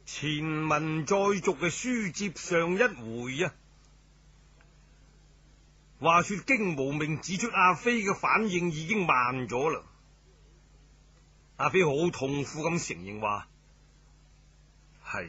前文再續嘅書接上一回啊，話說荊無命指出阿飛嘅反應已經慢咗啦。阿飛好痛苦咁承認話係。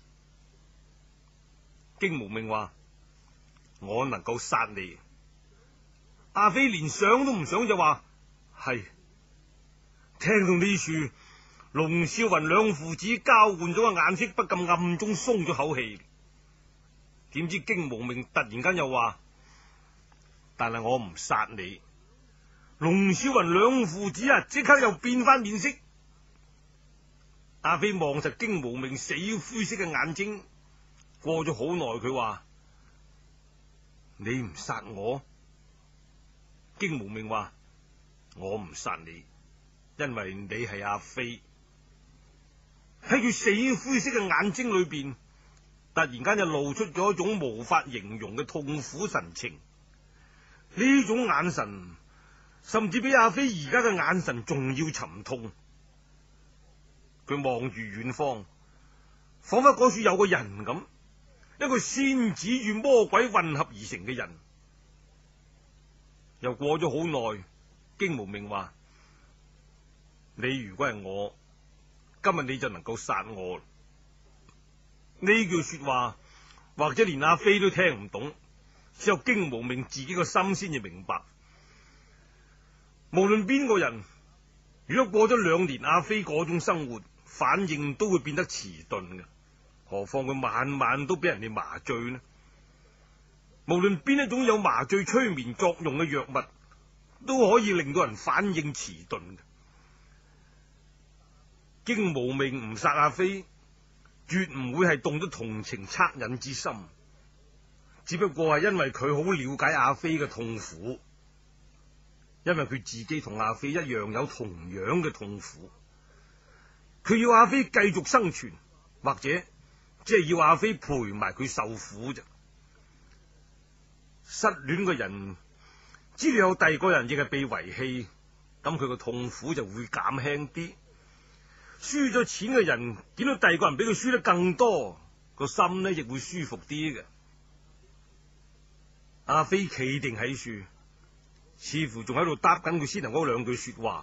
荊無命話我能夠殺你。阿飛連想都唔想就話係。聽到呢處，龍少雲兩父子交換咗個眼色，不禁暗中鬆咗口氣。點知荊無命突然間又話，但係我唔殺你。龍少雲兩父子啊，即刻又變翻面色。阿飛望實荊無命死灰色嘅眼睛，過咗好耐，佢話你唔殺我。荊無命話我唔殺你，因為你係阿飛。喺佢死灰色嘅眼睛裏邊，突然間就露出咗一種無法形容嘅痛苦神情。呢種眼神甚至比阿飛而家嘅眼神仲要沉痛。佢望住遠方，仿佛嗰處有個人咁，一個仙子與魔鬼混合而成嘅人。又過咗好耐，荊無命話，你如果係我，今日你就能夠殺我。呢句說話或者連阿飛都聽唔懂，只有荊無命自己個心先至明白。無論邊個人，如果過咗2年阿飛嗰種生活，反應都會變得遲鈍嘅，何況佢晚晚都俾人哋麻醉呢？無論邊一種有麻醉催眠作用嘅藥物，都可以令到人反應遲鈍嘅。荊無命唔殺阿飛，絕唔會係動咗同情惻隱之心，只不過係因為佢好了解阿飛嘅痛苦，因為佢自己同阿飛一樣有同樣嘅痛苦。佢要阿飛繼續生存，或者即係要阿飛陪埋佢受苦啫。失戀嘅人知道有第二個人亦係被遺棄，咁佢個痛苦就會減輕啲。輸咗錢嘅人見到第二個人比佢輸得更多，個心呢亦會舒服啲嘅。阿飛企定喺樹，似乎仲喺度答緊佢先頭嗰2句說話。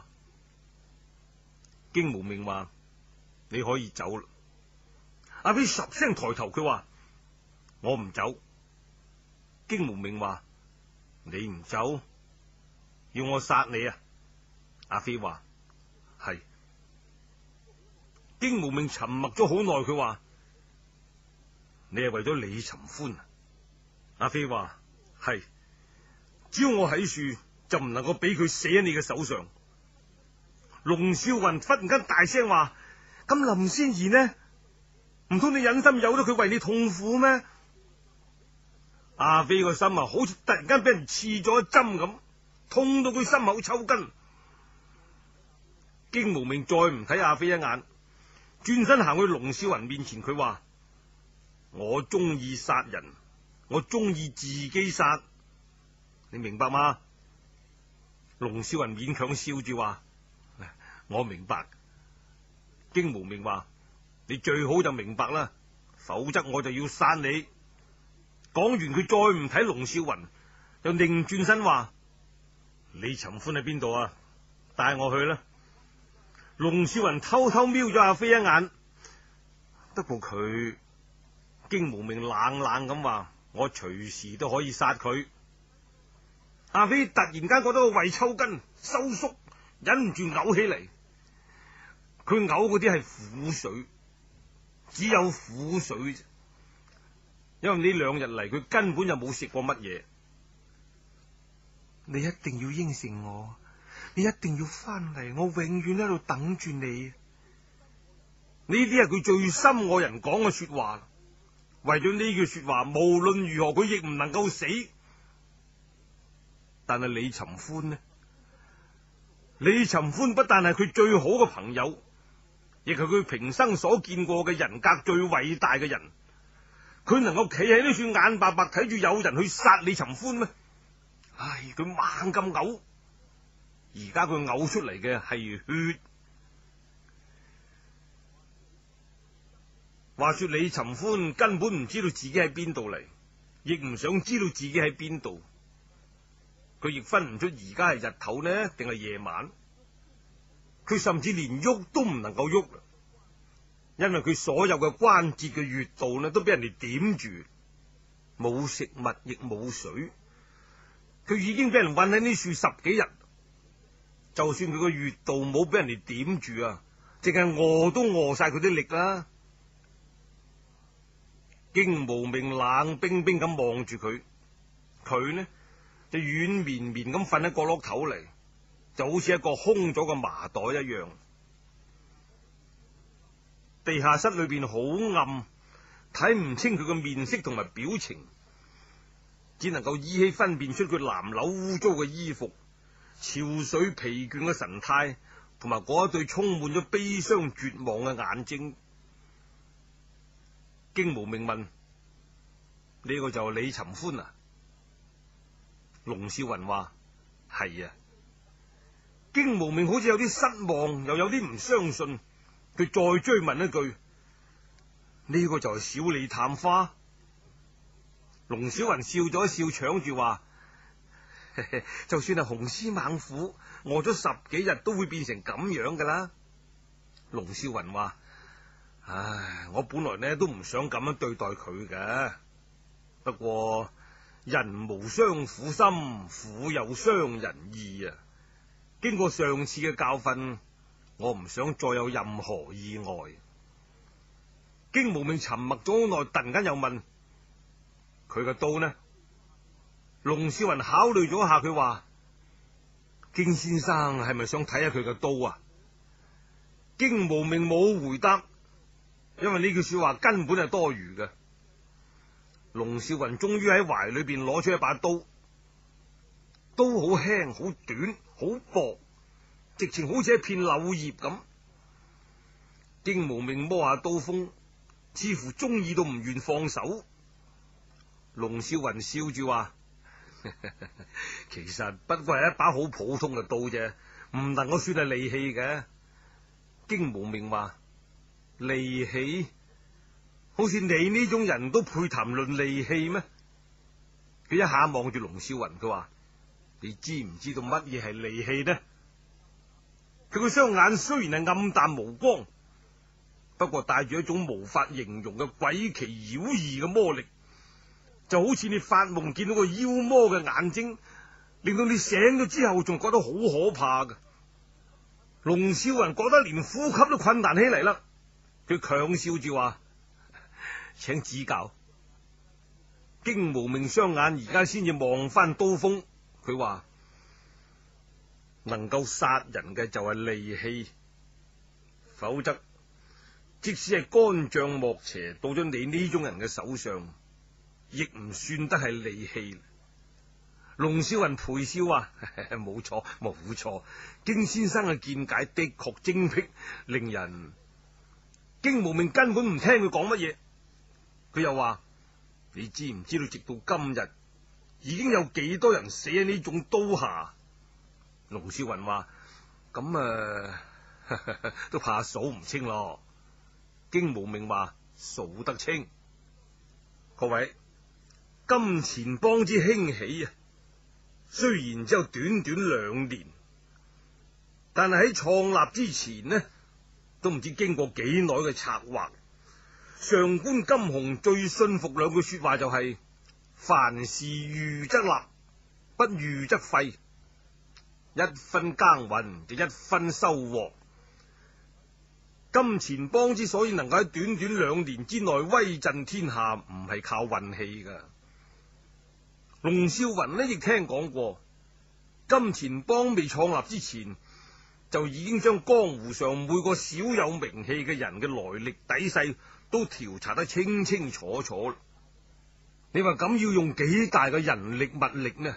荊無命話，你可以走啦。阿飛十聲抬頭，佢話我唔走。荊無命話，你唔走，要我殺你啊？阿飛話係。荊無命沉默咗好耐，佢話你係為咗李尋歡啊？阿飛話係，只要我喺樹，就唔能夠俾佢死喺你嘅手上。龍少雲忽然間大聲話，咁林仙兒呢？唔通你忍心由得佢為你痛苦咩？阿飛個心啊，好似突然間俾人刺咗一針咁，痛到佢心口抽筋。荊無命再唔睇阿飛一眼，轉身行去龍少雲面前，佢話我中意殺人，我中意自己殺，你明白嗎？龍少雲勉強笑住話，我明白。荊無命話，你最好就明白啦，否則我就要殺你。講完，佢再唔睇龍少雲，又擰轉身話，李尋歡喺邊度啊？帶我去啦。龍少雲偷偷瞄咗阿飛一眼，不過佢荊無命冷冷咁話，我隨時都可以殺佢。阿飛突然間覺得個胃抽筋收縮，忍唔住嘔起嚟。佢嘔嗰啲係苦水，只有苦水啫。因為呢2日嚟，佢根本就冇食過乜嘢。你一定要應承我，你一定要翻嚟，我永遠喺度等住你。呢啲係佢最深愛人講嘅說話。為咗呢句說話，無論如何佢亦唔能夠死。但係李尋歡呢？李尋歡不但係佢最好嘅朋友，亦係佢平生所見過嘅人格最偉大嘅人。佢能夠企喺呢處眼白白睇住有人去殺李尋歡咩？唉，佢猛咁嘔，而家佢嘔出嚟嘅係血。 話說李尋歡根本唔知道自己喺邊度嚟，亦唔想知道自己喺邊度。佢亦分唔出而家係日頭呢定係夜晚。佢甚至連喐都唔能夠喐，因為佢所有嘅關節嘅穴道呢都俾人哋點住，冇食物亦冇水。佢已經俾人困喺呢樹10幾日，就算佢個穴道冇俾人哋點住啊，淨係餓都餓晒佢啲力啦。荊無命冷冰冰咁望住佢，佢呢就軟綿綿咁瞓喺角落頭嚟，就好似一個空咗嘅麻袋一樣。地下室裏邊好暗，睇唔清佢嘅面色同埋表情，只能夠依稀分辨出佢襤褸污糟嘅衣服、憔悴疲倦嘅神態，同埋嗰一對充滿咗悲傷絕望嘅眼睛。荊無命問：呢個就係李尋歡啊？龍少雲話：係啊。荊無命好似有啲失望，又有啲唔相信。佢再追問一句：呢個就係小李探花？龍小雲笑咗一笑，搶住話：就算係雄獅猛虎，餓咗10幾日都會變成咁樣噶啦。龍少雲話：唉，我本來呢都唔想咁樣對待佢嘅，不過人無雙苦心，苦有傷人意啊。經過上次嘅教訓，我唔想再有任何意外。荊無命沉默咗好耐，突然間又問：佢嘅刀呢？龍少雲考慮咗一下，佢話：荊先生係咪想睇下佢嘅刀啊？荊無命冇回答，因為呢句說話根本係多餘嘅。龍少雲終於喺懷裏邊攞出一把刀，刀好輕好短好薄，直情好似一片柳葉咁。荊無命摸下刀鋒，似乎中意到唔願放手。龍少雲笑住話：其實不過係一把好普通嘅刀啫，唔能夠算係利器嘅。荊無命話：利器？好似你呢種人都配談論利器咩？佢一下望住龍少雲，佢話：你知唔知道乜嘢係利器呢？佢個雙眼雖然係暗淡無光，不過帶住一種無法形容嘅詭奇妖異嘅魔力，就好似你發夢見到個妖魔嘅眼睛，令到你醒咗之後仲覺得好可怕嘅。龍少雲覺得連呼吸都困難起嚟啦，佢強笑住話：請指教。荊無命雙眼而家先至望翻刀鋒，佢話：能夠殺人嘅就係利器，否則即使係干將莫邪到咗你呢種人嘅手上，亦唔算得係利器。龍少雲陪笑話：冇錯冇錯，荊先生嘅見解的確精闢，令人……荊無命根本唔聽佢講乜嘢。佢又話：你知唔知道直到今日已經有幾多人死喺呢種刀下？龍少雲話：咁都怕數唔清咯。荊無命話：數得清。各位，金錢幫之興起啊，雖然只有短短2年，但係喺創立之前呢，都唔知經過幾耐嘅策劃。上官金鴻最信服2句說話就係：凡事預則立，不預則廢。1分耕耘就1分收穫。金錢幫之所以能夠喺短短2年之內威震天下，唔係靠運氣噶。龍少雲呢亦聽講過，金錢幫未創立之前，就已經將江湖上每個小有名氣嘅人嘅來歷底細都調查得清清楚楚。你話咁要用幾大嘅人力物力呢？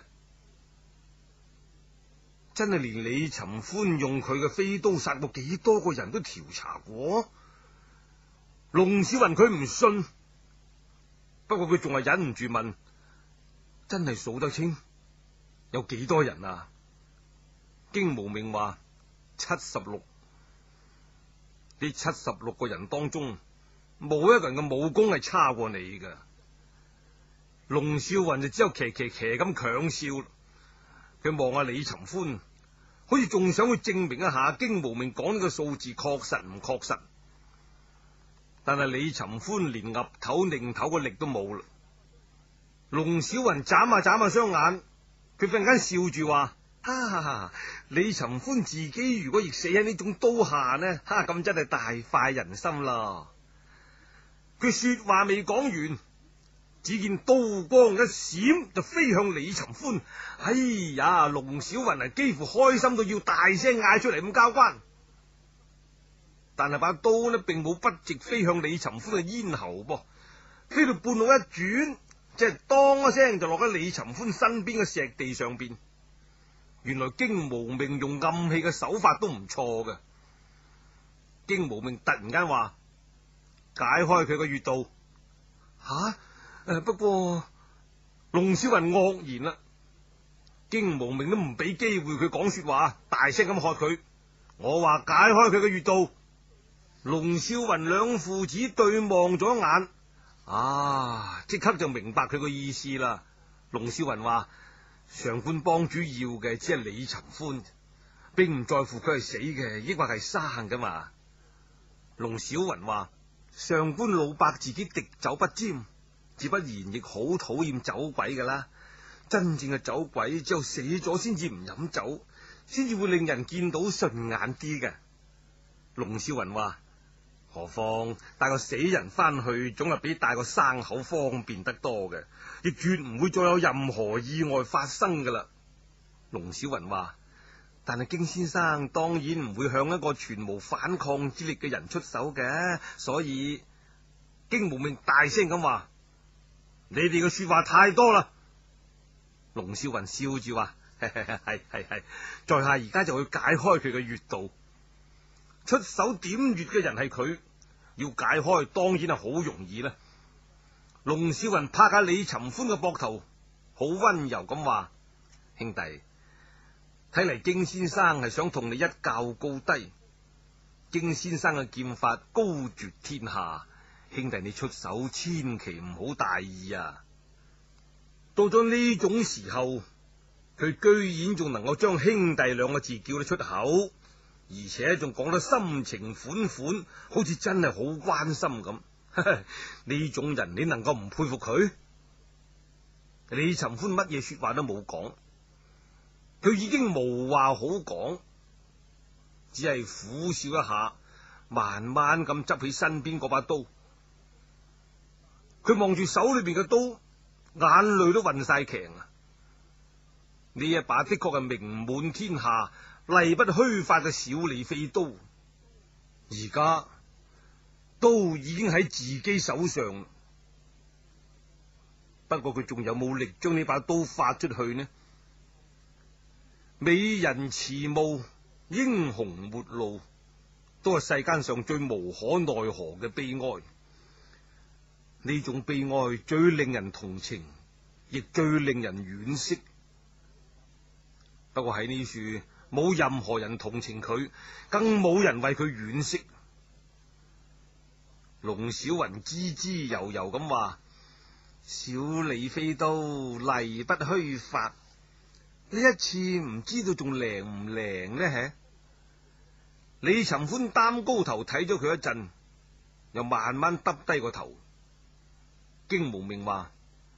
真係連李尋歡用佢嘅飛刀殺過幾多個人都調查過。龍小雲佢唔信，不過佢仲係忍唔住問：真係數得清有幾多人啊？荊無命話：76。呢76個人當中， 冇一個人嘅武功係差過你噶。龍少雲就只有騎咁強笑。佢望下李尋歡，好似仲想去證明一下荊無命講呢個數字確實唔確實。但係李尋歡連岌頭擰頭嘅力都冇啦。龍小雲眨下雙眼，佢忽然間笑住話：李尋歡自己如果亦死喺呢種刀下呢？咁真係大快人心啦！佢說話未講完，只見刀光一閃就飛向李尋歡。哎呀，龍小雲係幾乎開心到要大聲嗌出嚟咁交關。但係把刀呢，並冇筆直飛向李尋歡嘅咽喉噃，飛到半路一轉，即係當一聲就落喺李尋歡身邊嘅石地上邊。原來荊無命用暗器嘅手法都唔錯嘅。荊無命突然間話：解開佢個穴道。不過龍小雲愕然啦。荊無命都唔俾機會佢講說話，大聲咁喝佢：我話解開佢嘅穴道。龍少雲兩父子對望咗一眼，即刻就明白佢個意思啦。龍少雲話：上官幫主要嘅只係李尋歡，並唔在乎佢係死嘅，抑或係生噶嘛。龍小雲話：上官老伯自己滴酒不沾，自不然亦好討厭酒鬼噶啦。真正嘅酒鬼只有死咗先至唔飲酒，先至會令人見到順眼啲嘅。龍少雲話：何況帶個死人翻去，總係比帶個生口方便得多嘅，亦絕唔會再有任何意外發生噶啦。龍小雲話：但係荊先生當然唔會向一個全無反抗之力嘅人出手嘅，所以荊無命大聲咁話：你哋嘅說話太多啦。龍少雲笑住話：係，在下而家就去解開佢嘅穴道。出手點穴嘅人係佢，要解開當然係好容易啦。龍少雲拍下李尋歡嘅膊頭，好溫柔咁話：兄弟，睇嚟荊先生係想同你一較高低。荊先生嘅劍法高絕天下，兄弟你出手千祈唔好大意啊！到咗呢種時候，佢居然仲能夠將兄弟兩個字叫得出口，而且仲講得深情款款，好似真係好關心咁。呢種人你能夠唔佩服佢？李尋歡乜嘢說話都冇講，佢已經無話好講，只係苦笑一下，慢慢咁執起身邊嗰把刀。佢望住手裏邊嘅刀，眼淚都暈晒強啊！呢一把的確係名滿天下、例不虛發嘅小李飛刀，而家刀已經喺自己手上。不過佢仲有冇力將呢把刀發出去呢？美人遲暮，英雄末路，都係世間上最無可奈何嘅悲哀。呢種悲哀最令人同情，亦最令人惋惜。不過喺呢處冇任何人同情佢，更冇人為佢惋惜。龍小雲滋滋悠悠咁話：小李飛刀例不虛發，呢一次唔知道仲靈唔靈呢？李尋歡擔高頭睇咗佢一陣，又慢慢耷低個頭。荊無命話：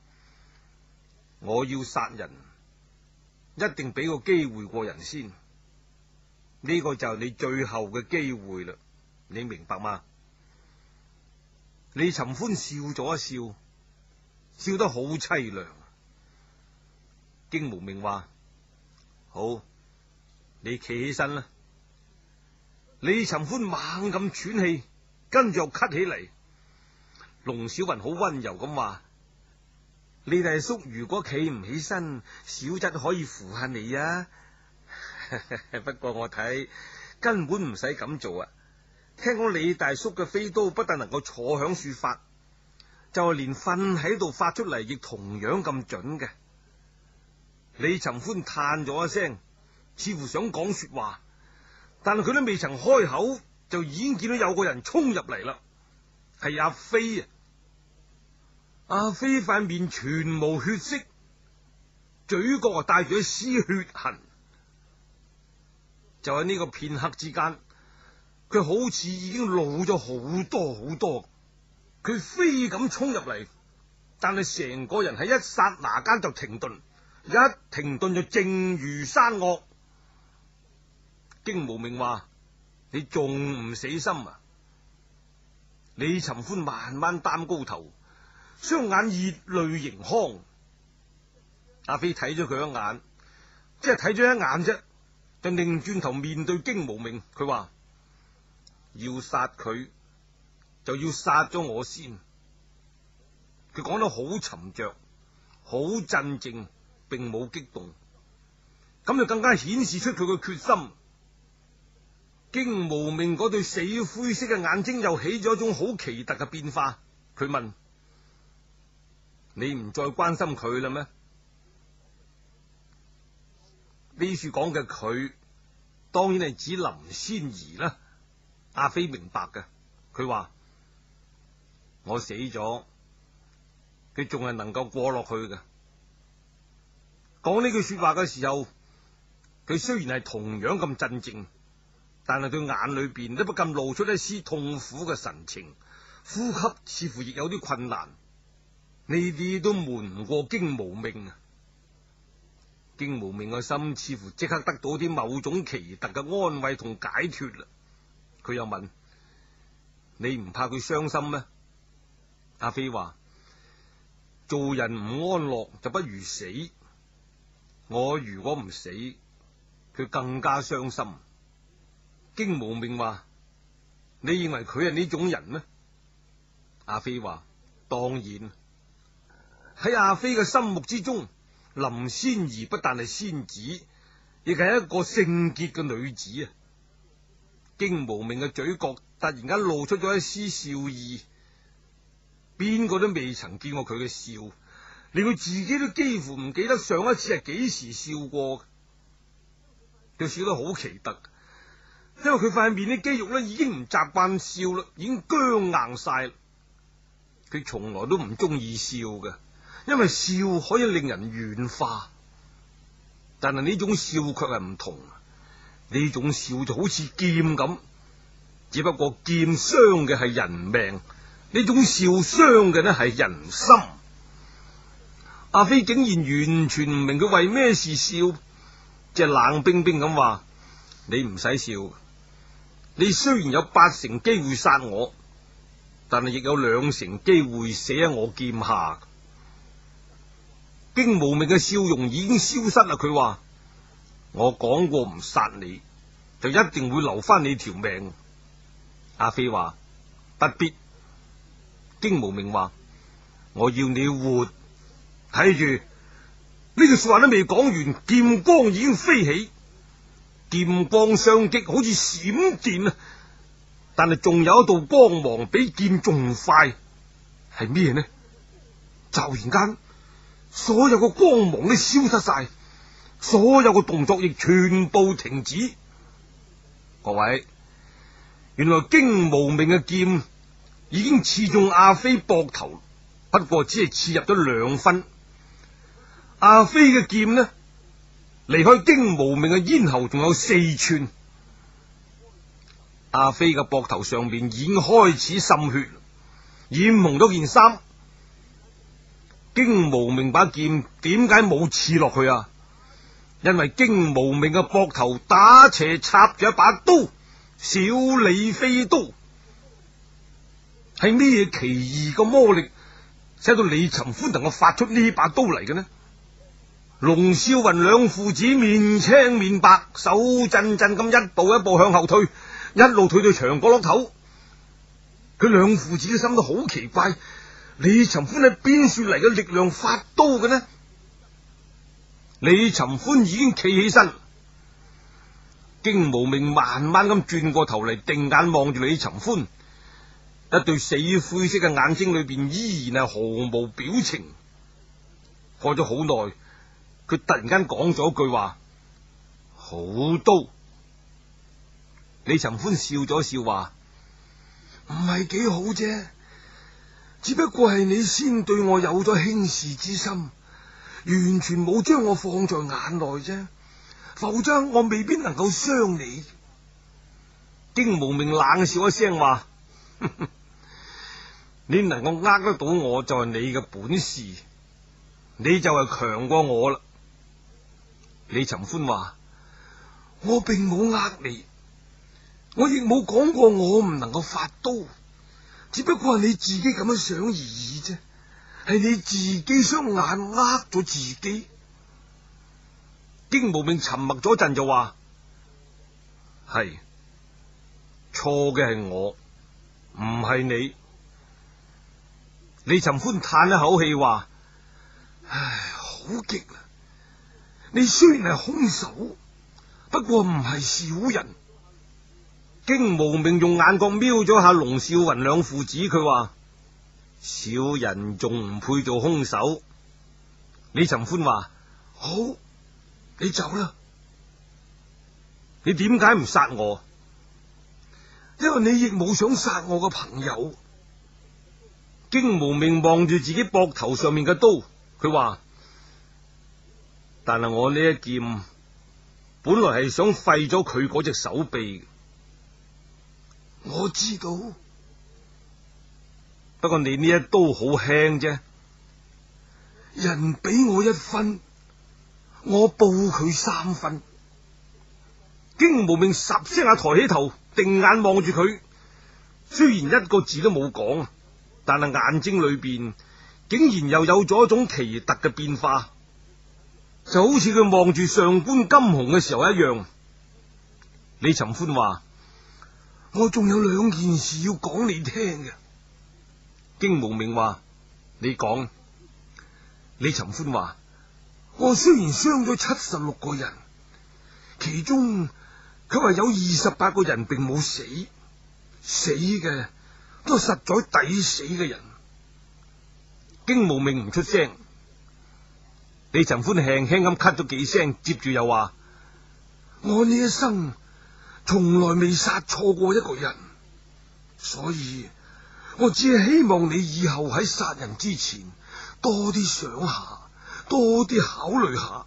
我要殺人，一定俾個機會過人先，呢個就係你最後嘅機會啦，你明白嗎？李尋歡笑咗一笑，笑得好淒涼。荊無命話：好，你企起身啦。李尋歡猛咁喘氣，跟住又咳起嚟。龍小雲好溫柔咁話：你大叔如果企唔起身，小侄可以扶下你啊。不過我睇根本唔使咁做啊。聽講李大叔嘅飛刀不但能夠坐響處發，就係連瞓喺度發出嚟亦同樣咁準嘅。李尋歡嘆咗一聲，似乎想講說話，但係佢都未曾開口，就已經見到有個人衝入嚟啦。 係阿飛啊！阿飛塊面全無血色，嘴角啊帶住一絲血痕。就喺呢個片刻之間，佢好似已經老咗好多好多。佢飛咁衝入嚟，但係成個人喺一剎那間就停頓，一停頓就靜如山岳。荊無命話：你仲唔死心啊？李尋歡慢慢擔高頭，雙眼熱淚盈眶。阿飛睇咗佢一眼，即係睇咗一眼啫，就擰轉頭面對荊無命，佢話：要殺佢就要殺咗我先。佢講得好沉着，好鎮靜，並冇激動，咁就更加顯示出佢嘅決心。荊無命嗰對死灰色嘅眼睛又起咗一種好奇特嘅變化。佢問：你唔再關心佢啦咩？呢處講嘅佢，當然係指林仙兒啦。阿飛明白嘅，佢話：我死咗，佢仲係能夠過落去嘅。講呢句說話嘅時候，佢雖然係同樣咁鎮靜，但係對眼裏邊都不禁露出一絲痛苦嘅神情，呼吸似乎亦有啲困難。呢啲都瞞唔過荊無命啊！荊無命嘅心似乎即刻得到啲某種奇特嘅安慰同解脫啦。佢又問：你唔怕佢傷心咩？阿飛話：做人唔安樂就不如死。我如果唔死，佢更加傷心。荊無命話：你認為佢係呢種人咩？阿飛話：當然。喺阿飛嘅心目之中，林仙兒不但係仙子，亦係一個聖潔嘅女子啊！荊無命嘅嘴角突然間露出咗一絲笑意，邊個都未曾見過佢嘅笑，連佢自己都幾乎唔記得上一次係幾時笑過。佢笑得好奇特，因為佢塊面啲肌肉咧已經唔習慣笑啦，已經僵硬晒。佢從來都唔中意笑嘅，因為笑可以令人軟化，但係呢種笑卻係唔同。呢種笑就好似劍咁，只不過劍傷嘅係人命，呢種笑傷嘅呢係人心。阿飛竟然完全唔明佢為咩事笑，即係冷冰冰咁話：你唔使笑，你雖然有8成機會殺我，但係亦有2成機會死喺我劍下。荊無命嘅笑容已經消失啦。佢話：我講過唔殺你，就一定會留翻你條命。阿飛話：不必。荊無命話：我要你活。睇住呢句說話都未講完，劍光已經飛起，劍光相擊，好似閃電啊！但係仲有一道光芒比劍仲快，係咩呢？驟然間，所有嘅光芒都消失晒，所有嘅動作亦全部停止。各位，原來荊無命嘅劍已經刺中阿飛膊頭，不過只係刺入咗2分。阿飛嘅劍呢，離開荊無命嘅咽喉仲有4寸。阿飛嘅膊頭上面已經開始滲血，染紅咗件衫。荊無命把劍點解冇刺落去啊？因為荊無命嘅膊頭打斜插住一把刀，小李飛刀。係咩奇異嘅魔力，使到李尋歡能夠發出呢把刀嚟嘅呢？龍嘯雲兩父子面青面白，手震震咁一步一步向後退，一路退到牆角落頭。佢兩父子嘅心都好奇怪，李尋歡係邊處嚟嘅力量發刀嘅呢？李尋歡已經企起身，荊無命慢慢咁轉過頭嚟，定眼望住李尋歡，一對死灰色嘅眼睛裏邊依然係毫無表情。過咗好耐，佢突然間講咗句話：好刀。李尋歡笑咗笑話：唔係幾好啫， 只不過係你先對我有咗輕視之心，完全冇將我放在眼內啫，否則我未必能夠傷你。 荊無命冷笑一聲話：你能夠呃得到我就係你嘅本事，你就係強過我啦。李尋歡話： 我並冇呃你，我亦冇講過我唔能夠發刀，只不過係你自己咁樣想而已啫，係你自己雙眼呃咗自己。 荊無命沉默咗陣就話：係錯嘅係我，唔係你。李尋歡嘆一口氣話： 唉，好極啦！你雖然係兇手，不過唔係小人。 荊無命用眼角瞄咗下龍少雲兩父子，佢話：小人仲唔配做兇手？李尋歡話： 好，你走啦。 你點解唔殺我？ 因為你亦冇想殺我個朋友。 荊無命望住自己膊頭上面嘅刀，佢話：但係我呢一劍本來係想廢咗佢嗰隻手臂。 我知道， 不過你呢一刀好輕啫。 人俾我1分，我報佢3分。 荊無命十聲下抬起頭，定眼望住佢，雖然一個字都冇講，但係眼睛裏邊竟然又有咗一種奇特嘅變化，就好似佢望住上官金鴻嘅時候一樣。李尋歡話： 我仲有2件事要講你聽嘅。 荊無命話：你講。李尋歡話： 我雖然傷咗76個人，其中佢話有28個人並冇死，死嘅都實在抵死嘅人。 荊無命唔出聲。李尋歡輕輕咁咳咗幾聲，接住又話： 我呢一生從來未殺錯過一個人，所以我只係希望你以後喺殺人之前多啲想下，多啲考慮下。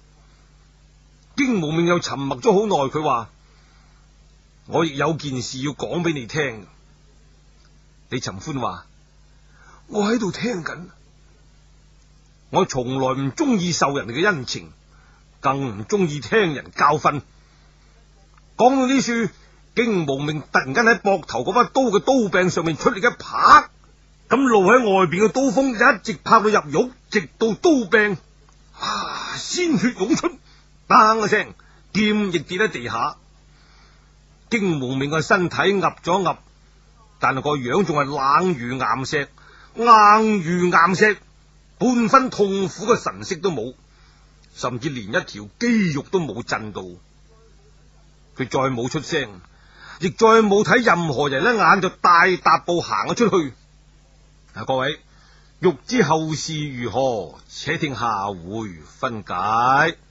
荊無命又沉默咗好耐，佢話：我亦有件事要講俾你聽。李尋歡話： 我喺度聽緊。 我從來唔中意受人哋嘅恩情，更唔中意聽人教訓。講到呢處，荊無命突然間喺膊頭嗰把刀嘅刀柄上面出力一拍，咁露喺外邊嘅刀鋒一直拍到入肉，直到刀柄，鮮血湧出，嘭一聲，劍亦跌喺地下。荊無命嘅身體岌咗岌，但係個樣仲係冷如岩石，硬如岩石，半分痛苦嘅神色都冇，甚至連一條肌肉都冇震到。佢再冇出聲，亦再冇睇任何人一眼，就大踏步行咗出去。各位欲知後事如何，且聽下回分解。